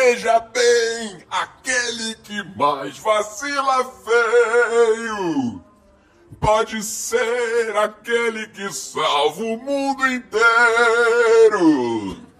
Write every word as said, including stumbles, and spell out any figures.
Veja bem, aquele que mais vacila feio pode ser aquele que salva o mundo inteiro.